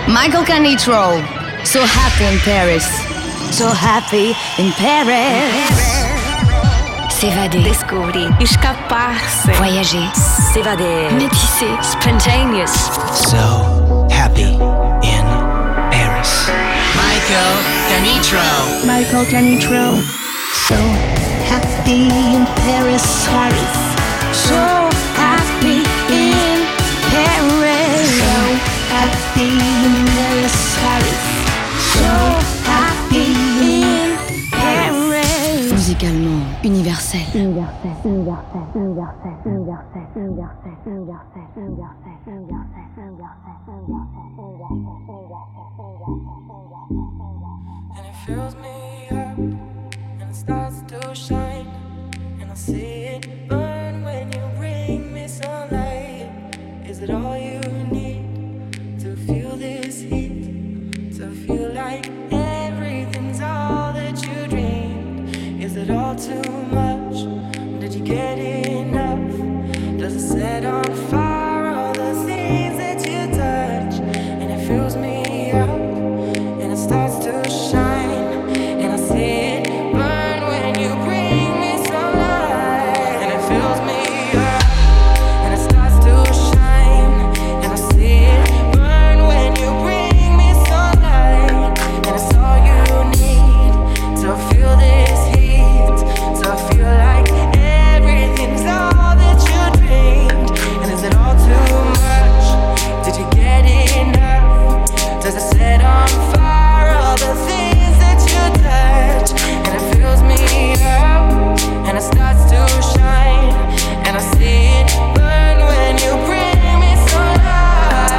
Michael Canitrot, So Happy in Paris. So Happy in Paris. S'évader. Descobrir. Escapar-se. Voyager. S'évader. Métisser. Spontaneous. So Happy in Paris. Michael Canitrot. Michael Canitrot. So Happy in Paris. Paris. So happy in Paris. So Happy in Paris. Paris. So happy in Paris. Musicalement universel. Universel. Universel. Universel. Universel. Universel. Universel. Universel. And it fills me up, and it starts to shine, and I see it burn when you bring me sunlight. Is it all you need to feel this heat? To feel like everything's all that you dreamed? Is it all too much? Did you get enough? Does it set on fire all the things that you touch? And it fills me up, and it starts to shine, and I see it burn when you bring me sunlight. And it fills me up, and it starts to shine, and I see it burn when you bring me sunlight. And it's all you need to feel this heat, to feel like everything's all that you dreamed. And is it all too much? Did you get enough? Does it set on fire all the things that you touch? And it fills me up, and it starts to shine, and I see it burn when you bring me sunlight.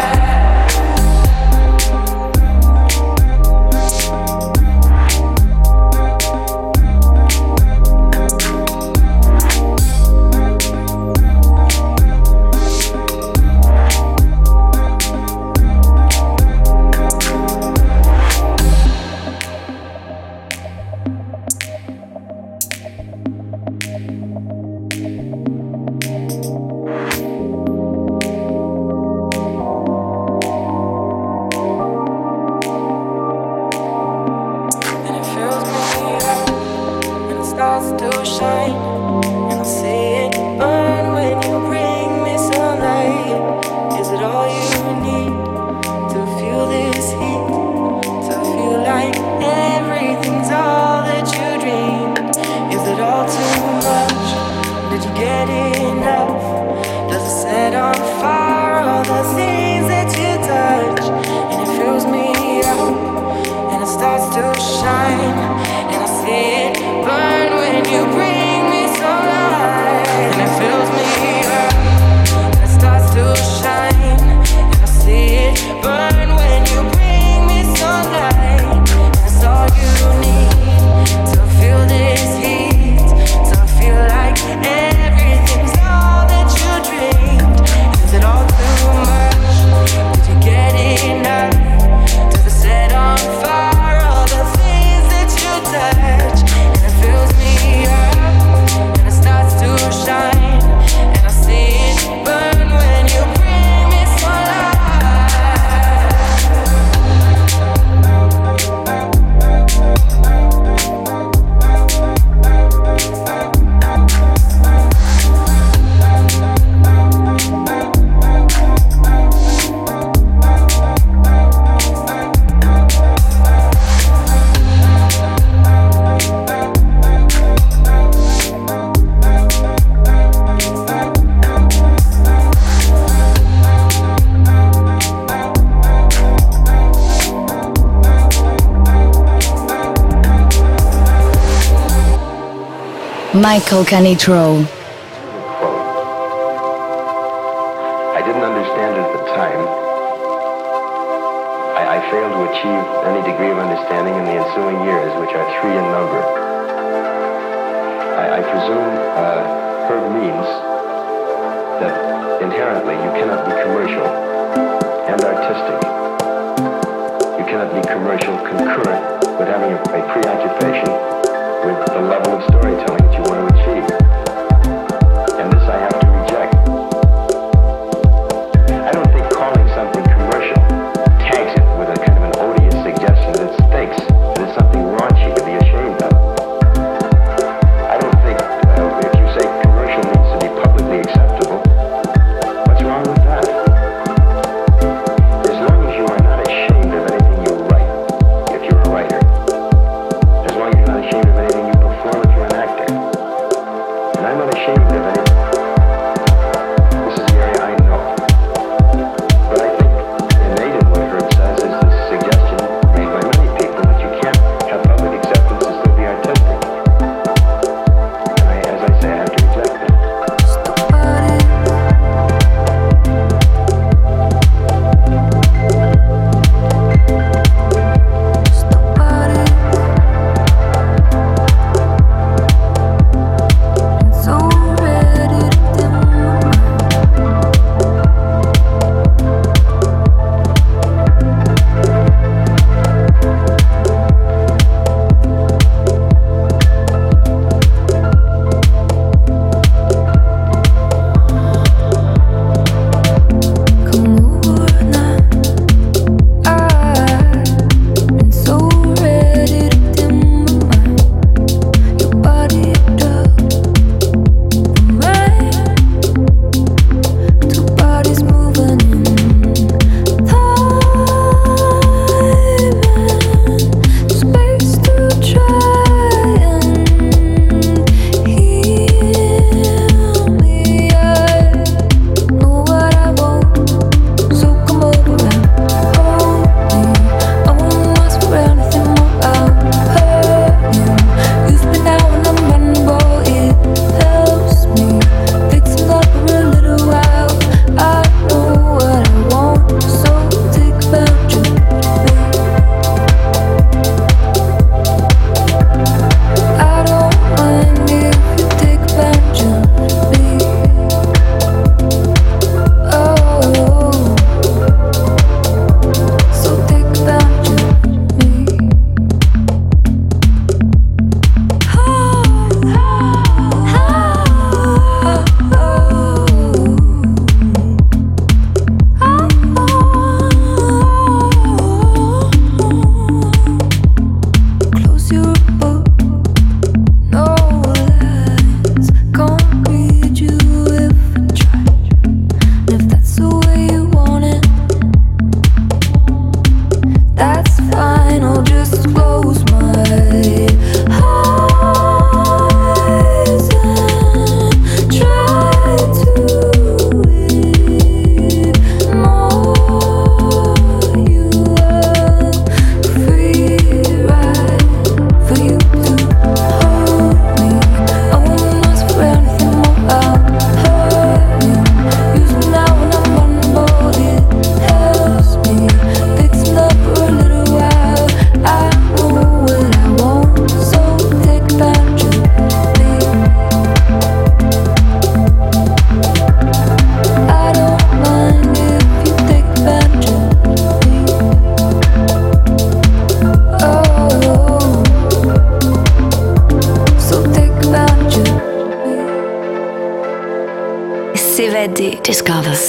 And it fills me up, and it starts to shine, and I see it burn when you bring me sunlight. Is it all you need to feel this heat? To feel like everything's all that you dreamed? Is it all too much? Did you get enough? Does it set on fire all the things that you touch? And it fills me up, and it starts to shine, and I see it burn when you bring me sunlight. And it fills me up, and it starts to shine, and I see it burn when you bring me sunlight. And it's all you need to feel this heat, to feel like everything's all that you dreamed. Is it all too much? Did you get enough? Does it set on fire all the things that you touch? And it fills me up, and it starts to shine, and I see it burn when you bring me sunlight. Michael Canitrot. I didn't understand it at the time. I failed to achieve any degree of understanding in the ensuing years, which are 3 in number. I presume Herb means that inherently you cannot be commercial and artistic. You cannot be commercial concurrent with having a preoccupation with the level of storytelling that you want to achieve. And this I have to reject. I don't think calling something commercial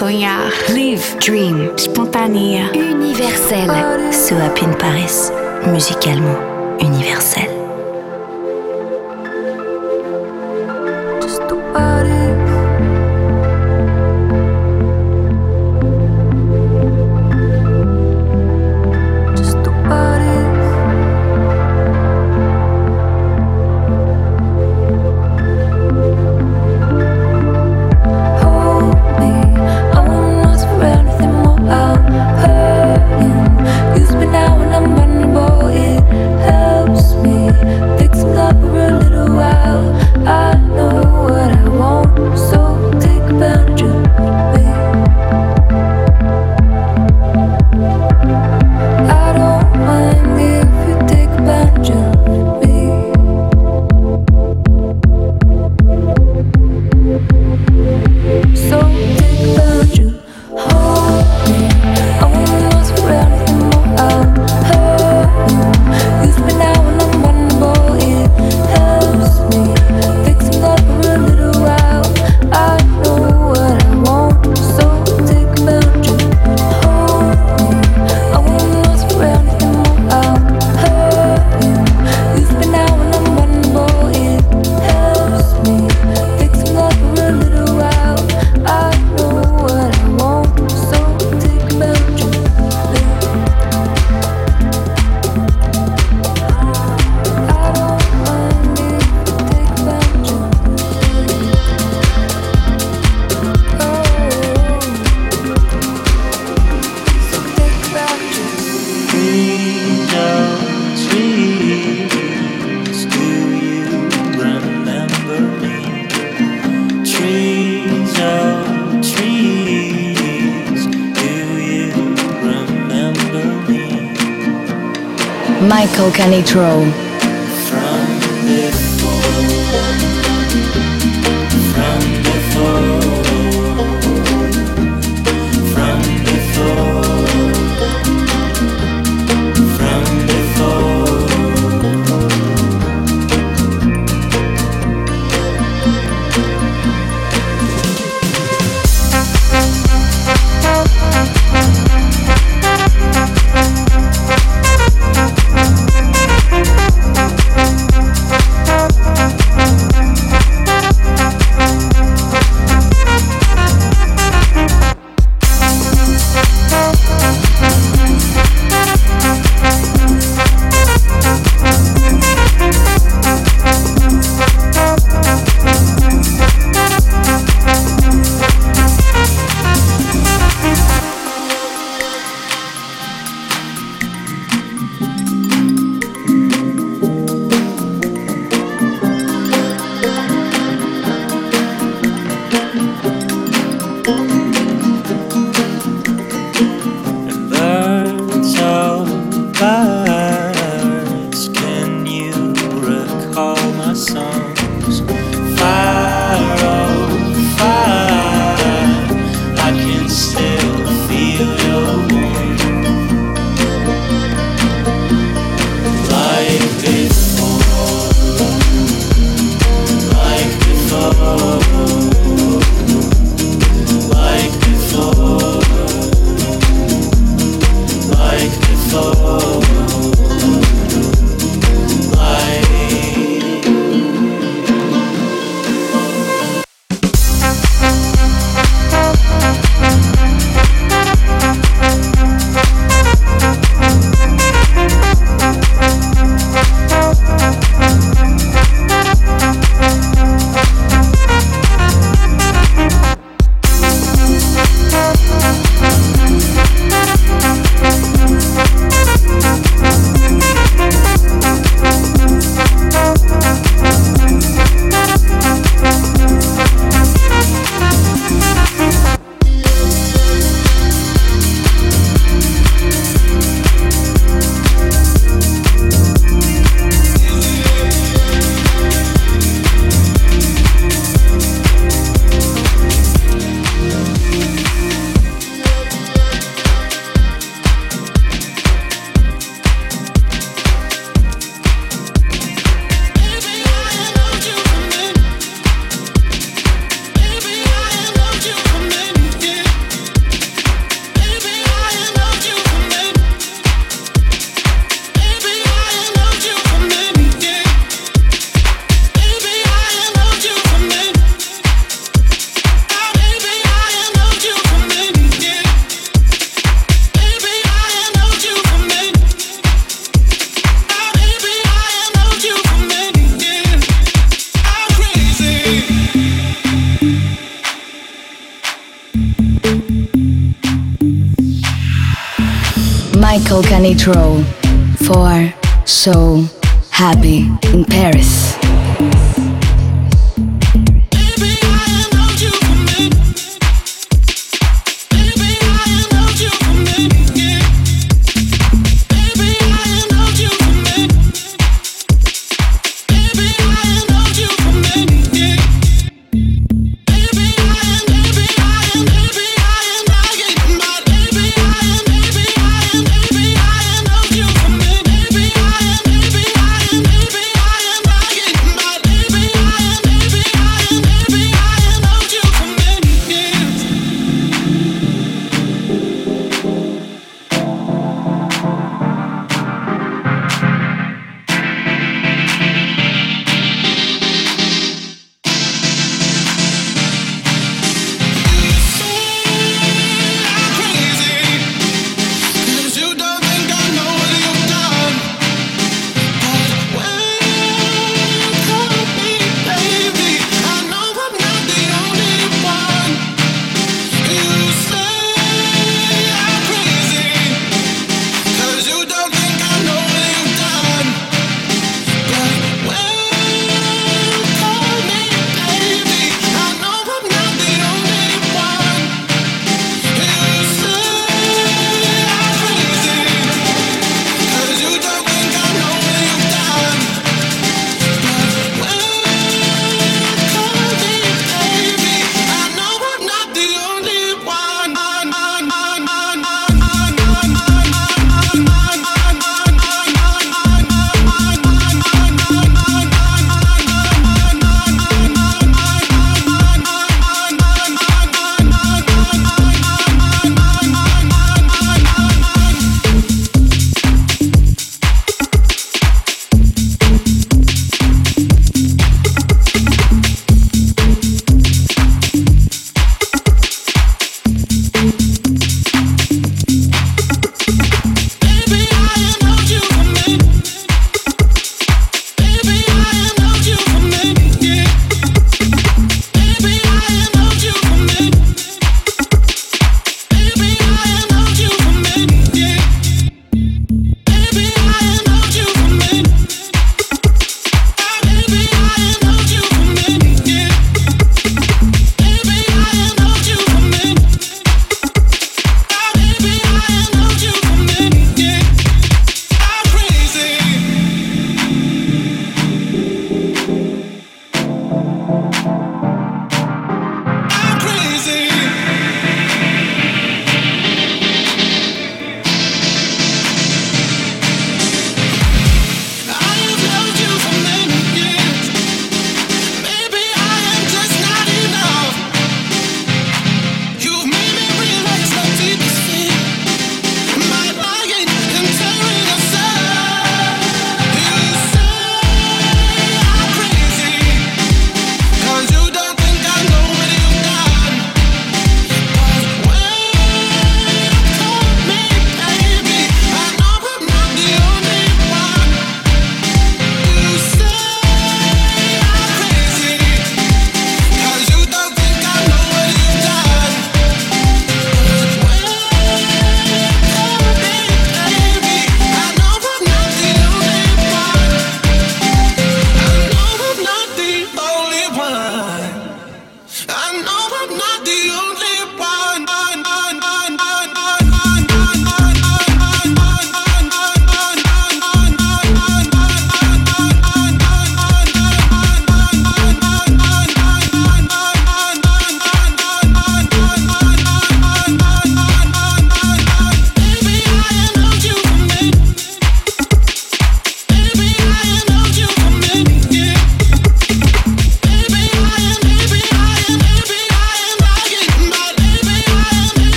sonhar. Live, dream, espontânea. Universel. So Happy in Paris, musicalement universel. Michael Canitrot. Michael Canitrot for So Happy in Paris. Baby,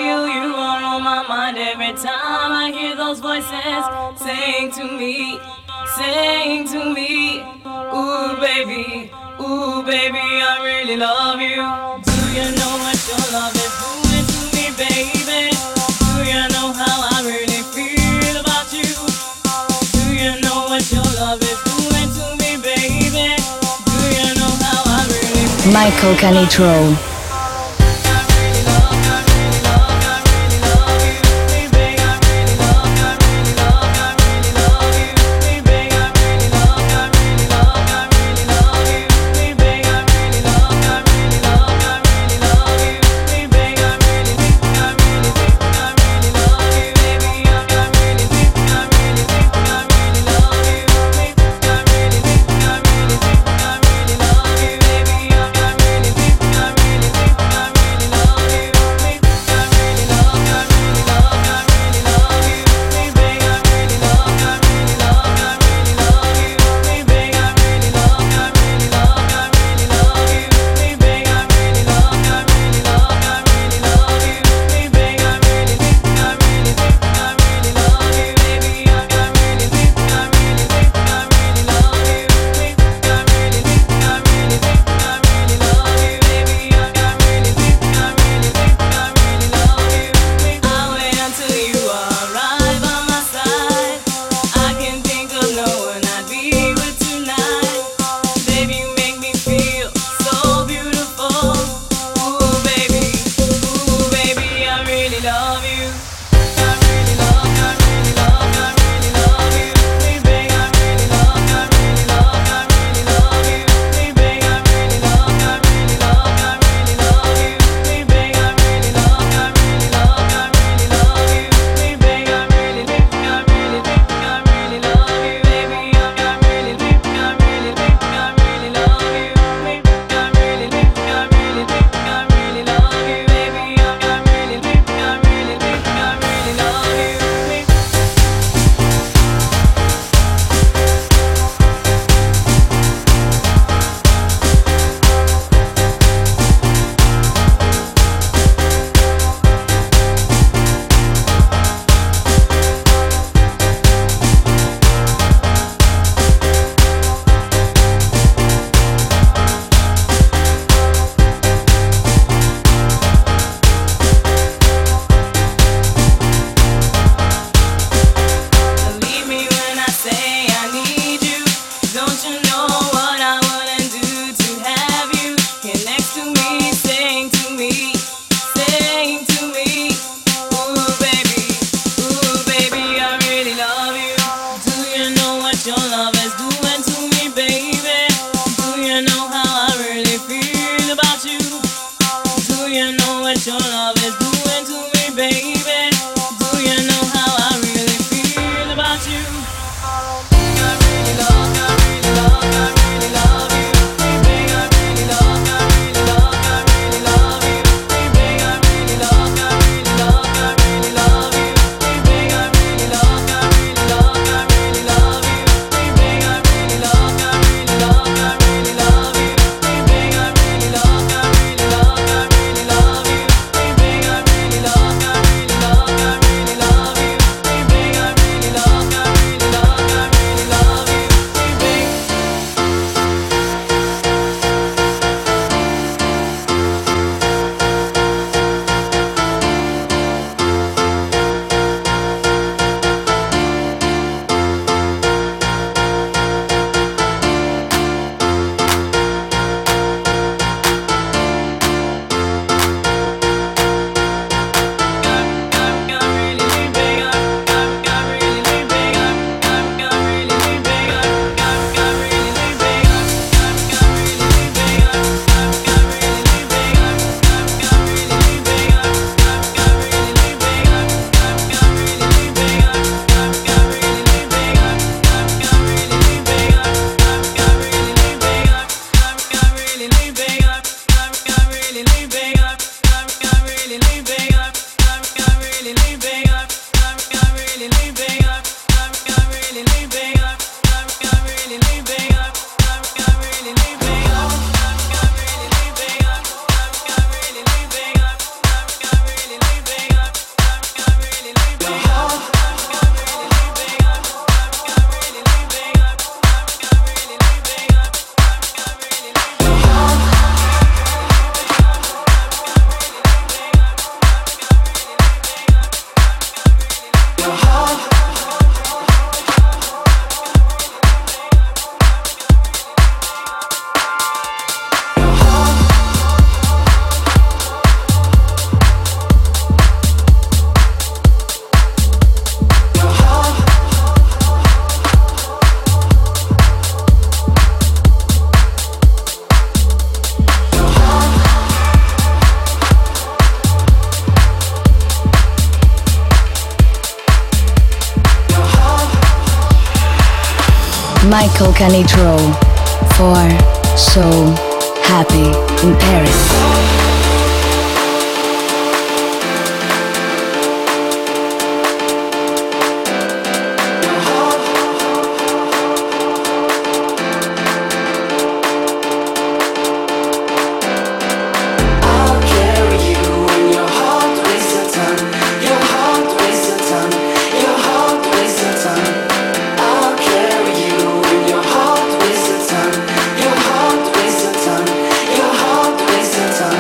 you are on my mind every time I hear those voices saying to me, ooh baby, I really love you. Do you know what your love is doing to me, baby? Do you know how I really feel about you? Do you know what your love is doing to me, baby? Do you know how I really feel? Michael Canitrot. Michael Canitrot for So Happy in Paris. Your heart wastes a ton.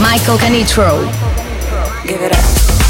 Michael Canitrot. Give it up.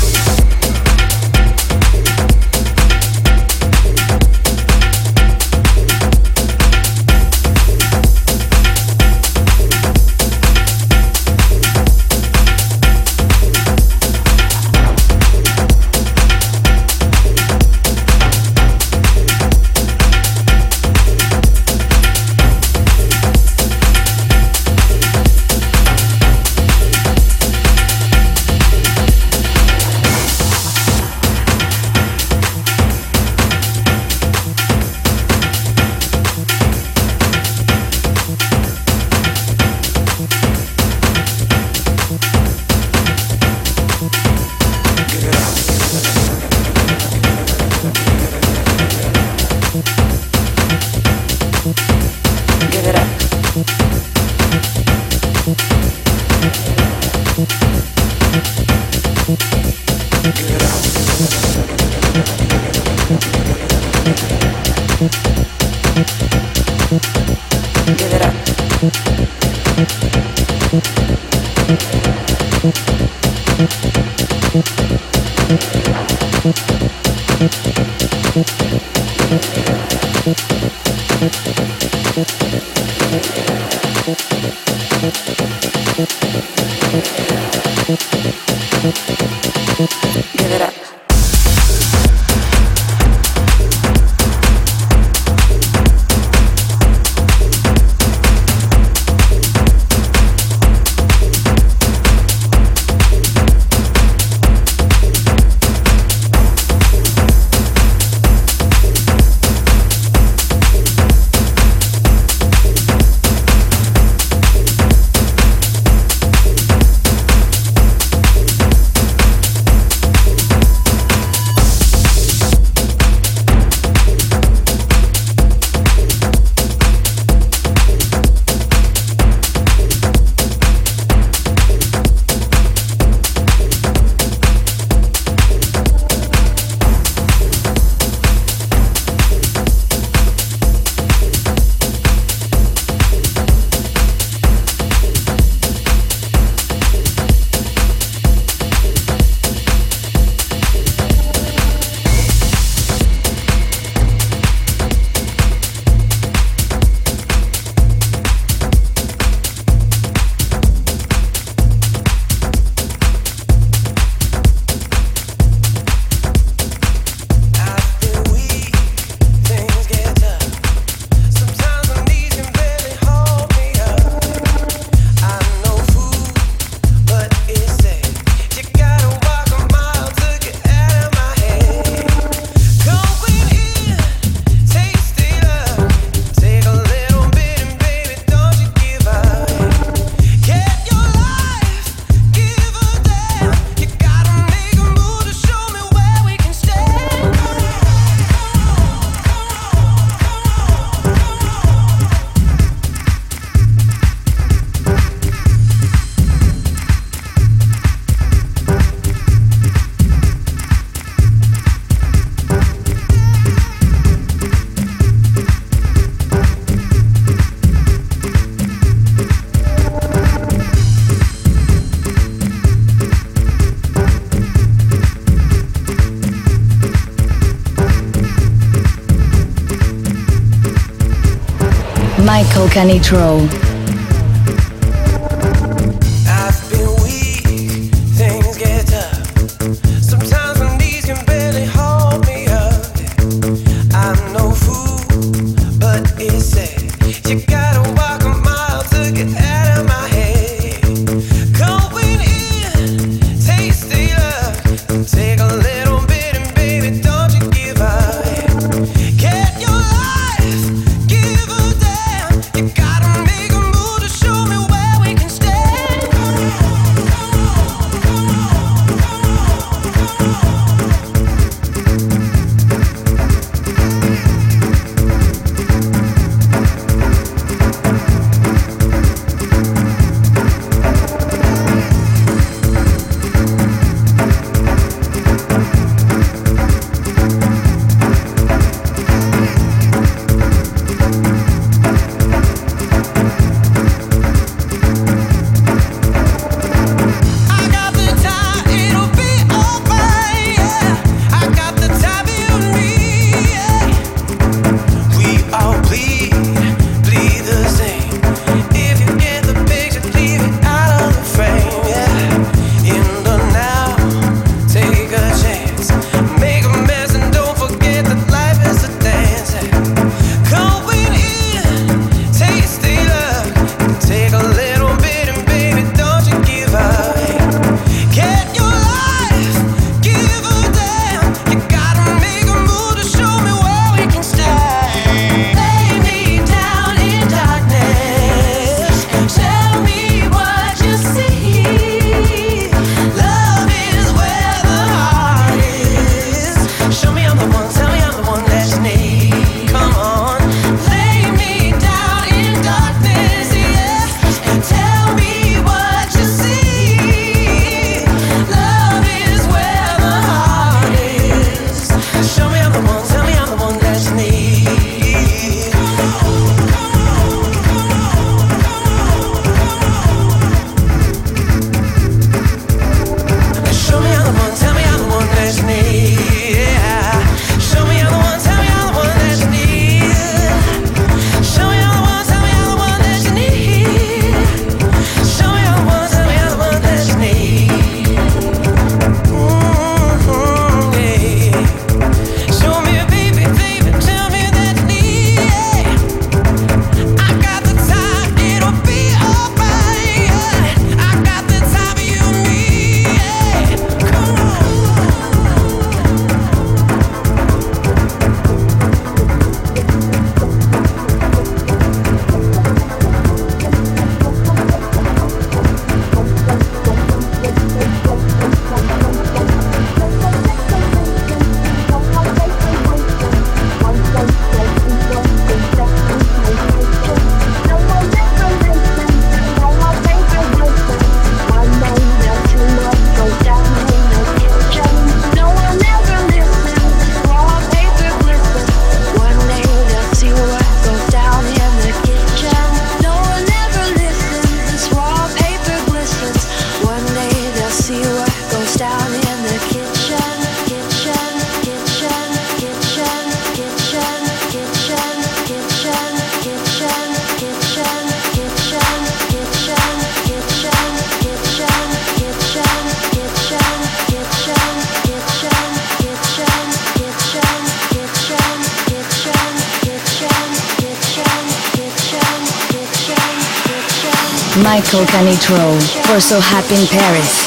Michael Canitrot. Make 'em Michael Canitro for So Happy in Paris.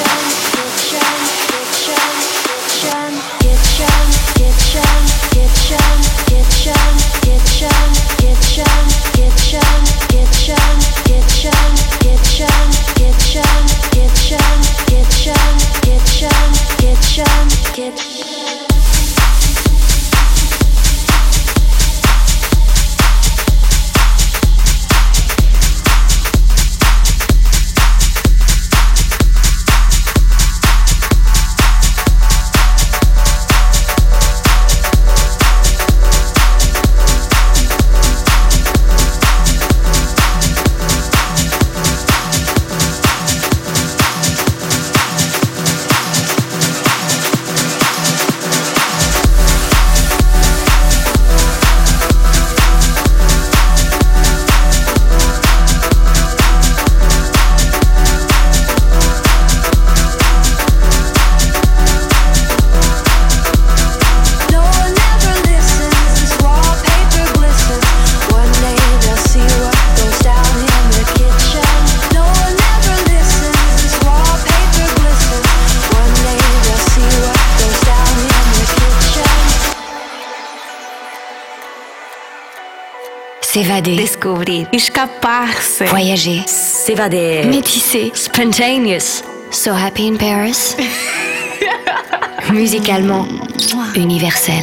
S'évader. Descobrir. Escapar-se. Voyager. S'évader. Métisser. Spontaneous. So Happy in Paris. Musicalement universel.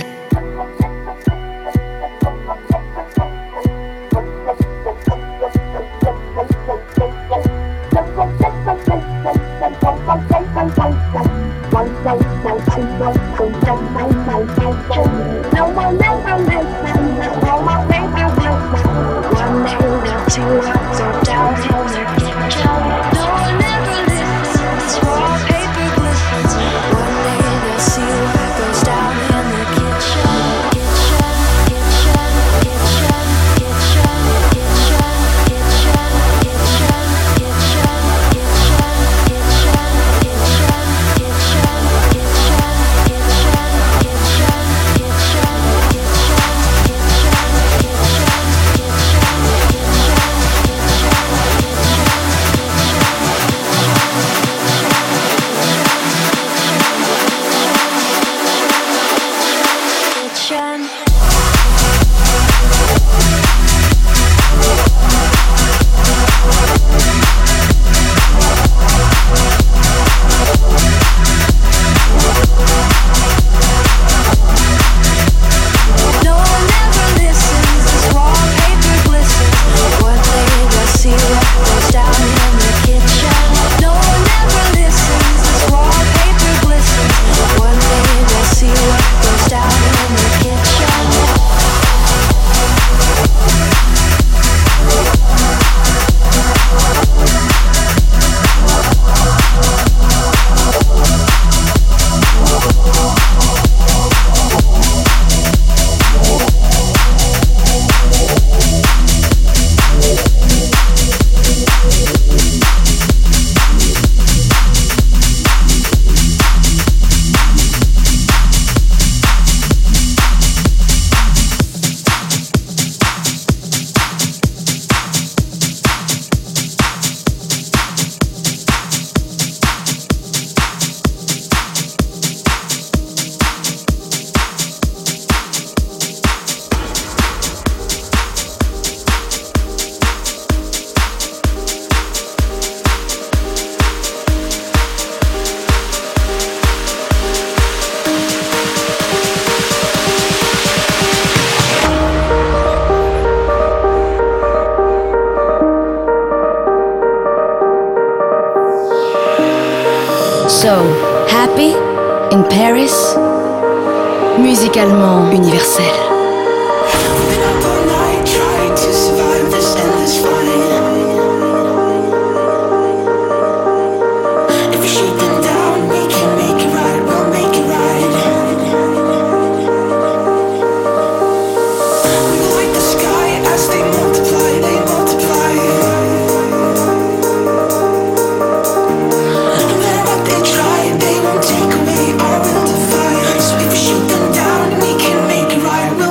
So Happy in Paris, musicalement universel. They won't take away our will to fight. So if we shoot them down, we can make it right.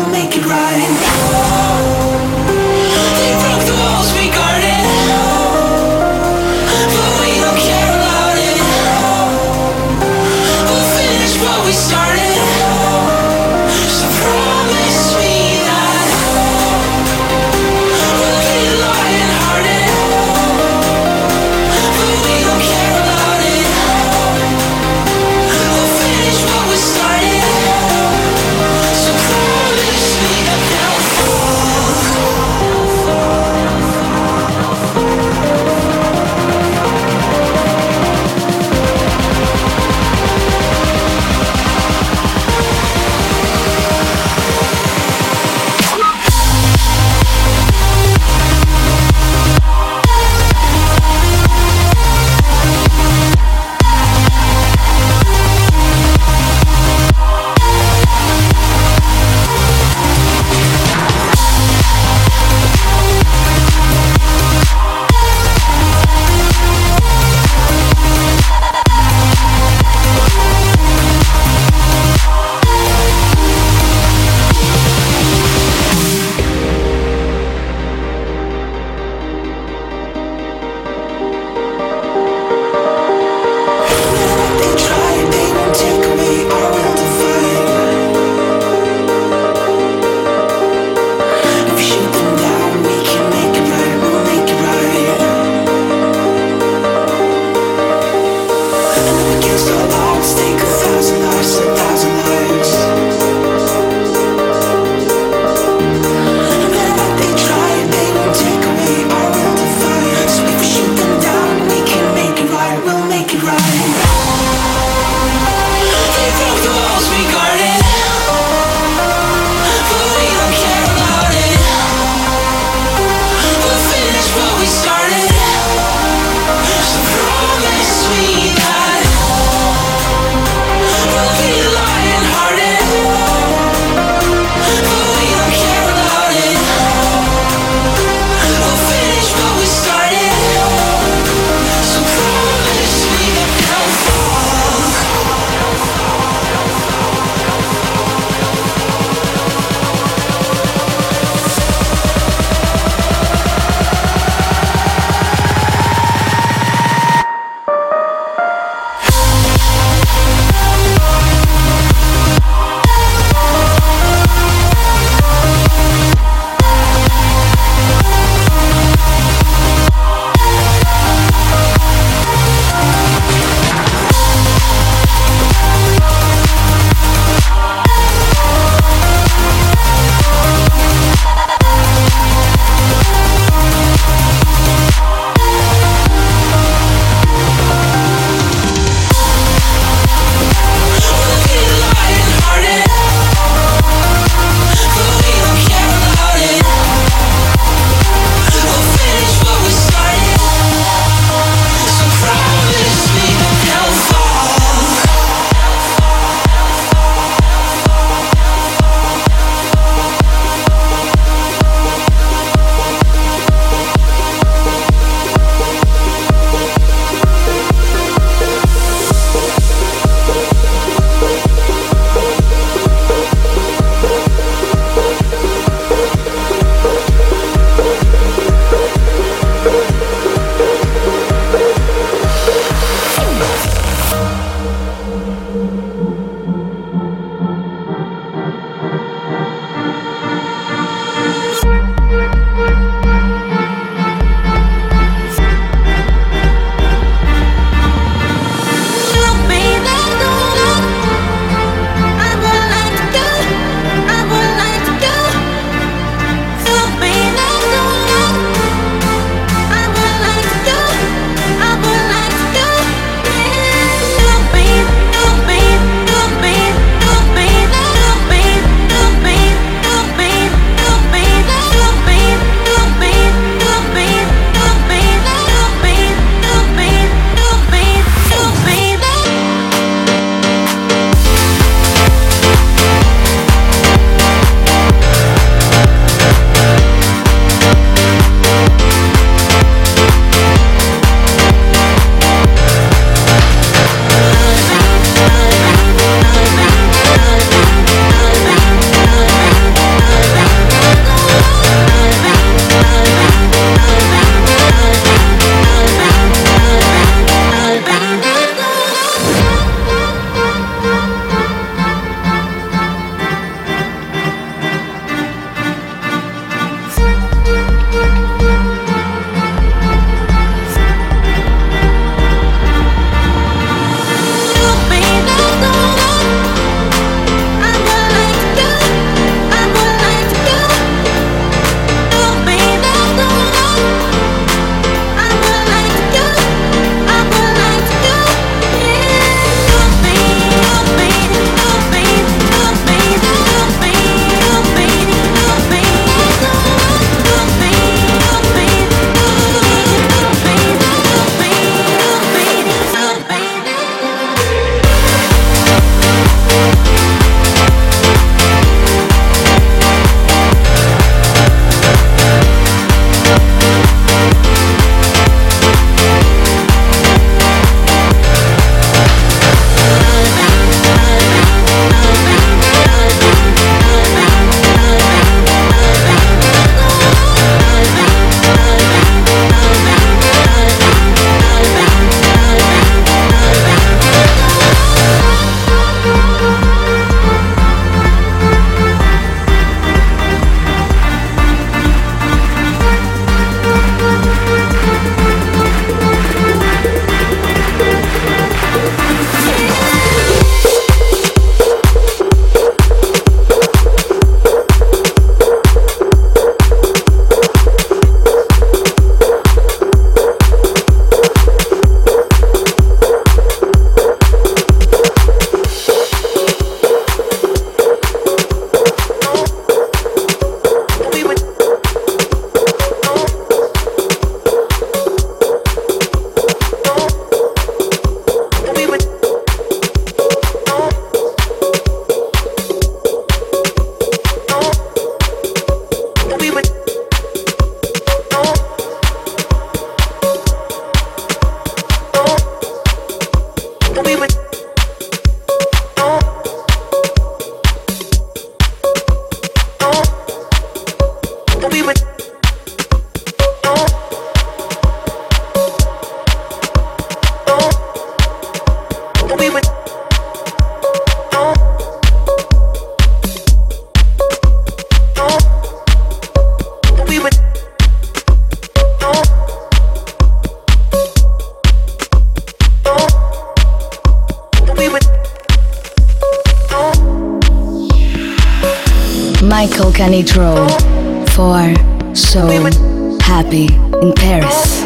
Michael Canitrot for So Happy in Paris.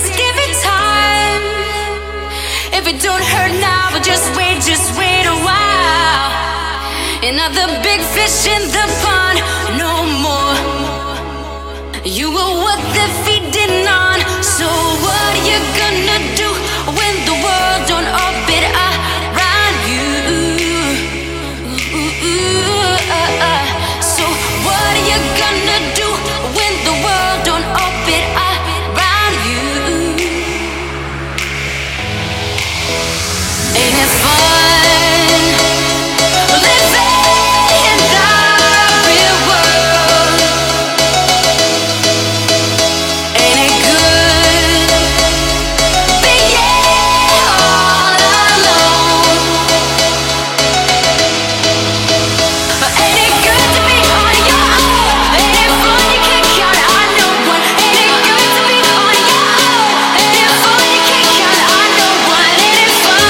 just give it time. If it don't hurt now, but just wait a while. Another big fish in the pond, no more. You were what they're feeding on. So what are you gonna do when the world don't orbit around you? So what are you gonna do when the world don't orbit around you? Ain't it fun living in the real world? Ain't it good being all alone? Ain't it good to be on your own? Ain't it fun you can't count on no one? Ain't it good to be on your own? Ain't it fun you can't count on no one? Ain't it fun?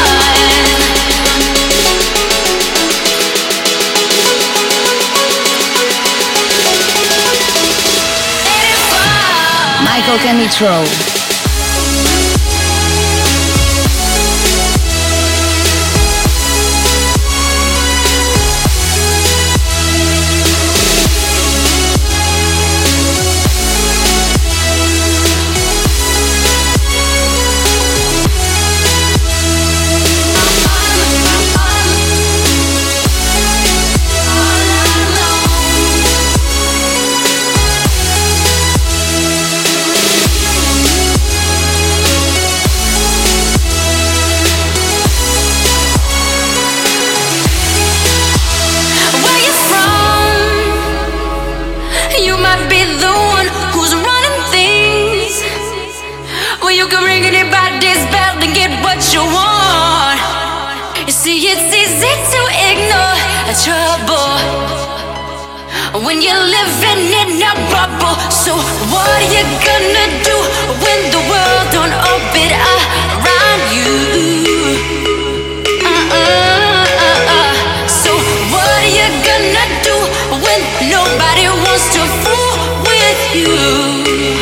Michael Canitrot. Where you from? You might be the one who's running things. Well, you can ring anybody's bell and get what you want. You see, it's easy to ignore trouble when you're living in a bubble. So what are you gonna do when the world don't orbit around you? So what are you gonna do when nobody wants to fool with you?